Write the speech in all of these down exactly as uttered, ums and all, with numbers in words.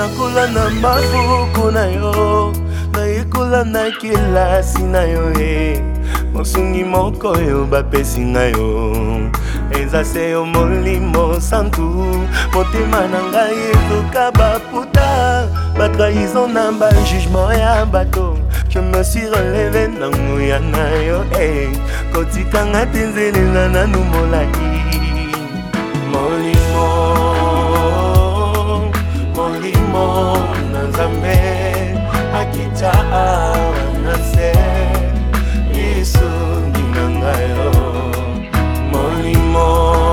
nakula na mabuku na yo, naikula na kilasi na yo eh. Mosungi moko yo bapesi na yo, eza se yo molimo santu. Motema na ngai ezoka baputa, batrahison na bajugement ya bato. Je me suis relevé na nguya na yo eh. Kotikanga tenzelela na numolai. Molimo, molimo na Nzambe akita na se Yesu ninangayo. Molimo,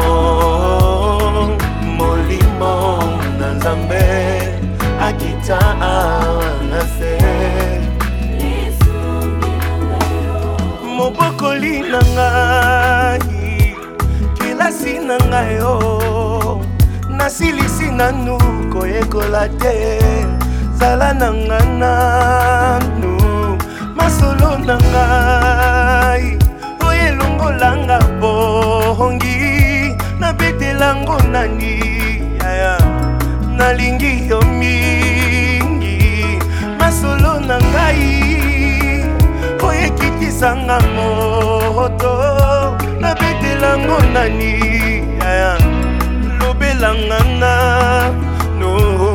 molimo na Nzambe akita na se Yesu ninangayo. Mobokoli na ngai, kilasi na ngayo, nasilisi nanu koyekola te. Zala na ngananu, masolo na ngai, oye longolanga bongi, nabetelango nani yaya, nalingi yo mingi. Masolo na ngai, oye kitisanga moto, nabetelango nani yaya, lobelanga na no.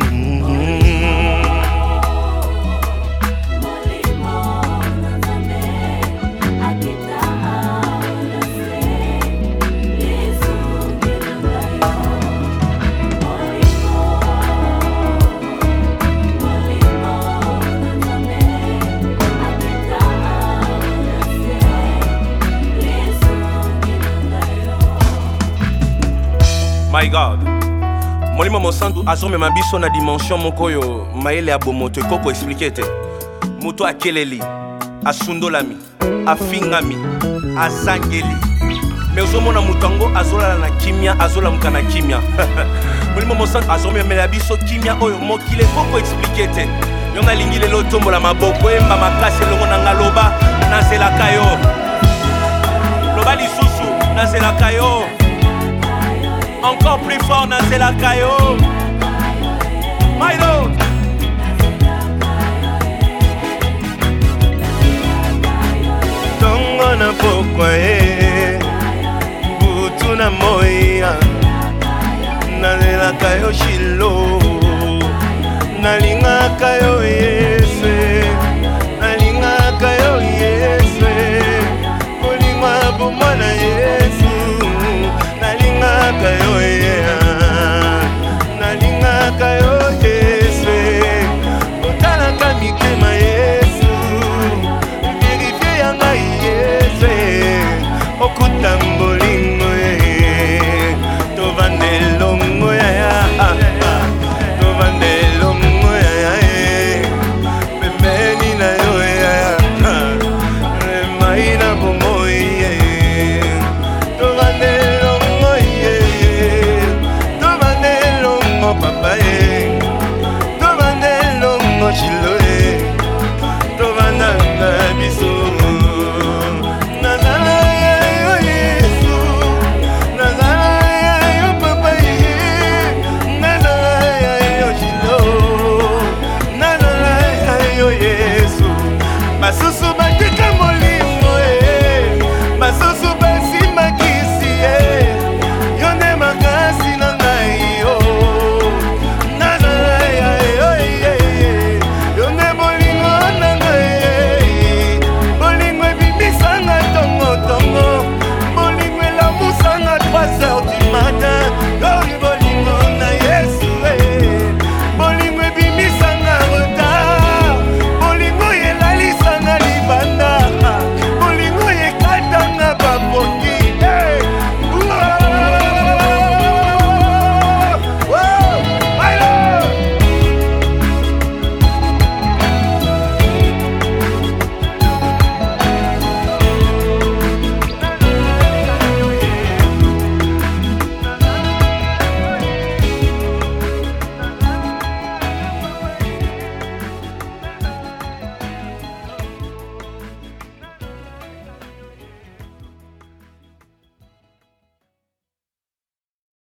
My God, molimo mosantu azome mabiso na dimension moko yo maele abomoto koko expliquer te. Muto akeleli, asundolami, afingami, azangeli. Mais ozomona mutango azolala na kimia, azola mukana kimia. Molimo mosantu azome mela biso kimia oyo mokile koko expliquer te. Yonga lingi lelo tombola maboko emba makase longo na ngaloba nazela kayo. Loba lisusu nazela kayo. Encore plus fort dans la caillou. My Lord. Tongo na pokwa e, butu na moya, na la caillou shilo, na linga caillou e.